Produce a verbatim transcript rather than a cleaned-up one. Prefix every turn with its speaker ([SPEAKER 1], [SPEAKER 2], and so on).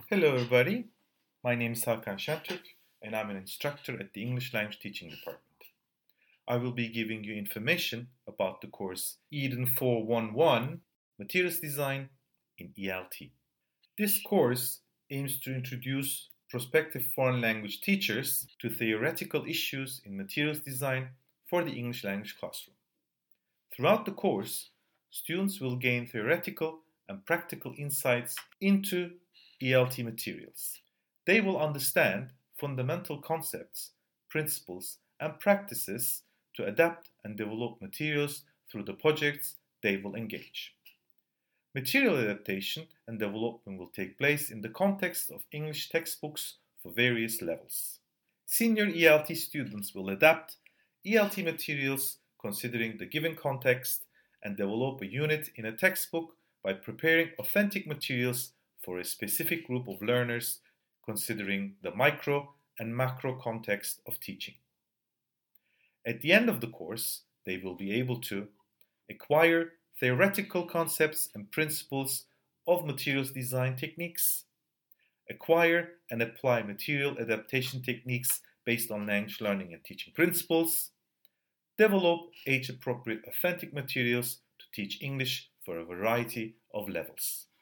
[SPEAKER 1] Hello, everybody. My name is Hakan Şentürk, and I'm an instructor at the English Language Teaching Department. I will be giving you information about the course Eden four one one Materials Design in E L T. This course aims to introduce prospective foreign language teachers to theoretical issues in materials design for the English language classroom. Throughout the course, students will gain theoretical and practical insights into E L T materials. They will understand fundamental concepts, principles, and practices to adapt and develop materials through the projects they will engage. Material adaptation and development will take place in the context of English textbooks for various levels. Senior E L T students will adapt E L T materials considering the given context and develop a unit in a textbook by preparing authentic materials for a specific group of learners considering the micro and macro context of teaching. At the end of the course, they will be able to acquire theoretical concepts and principles of materials design techniques, acquire and apply material adaptation techniques based on language learning and teaching principles, develop age-appropriate authentic materials to teach English for a variety of levels.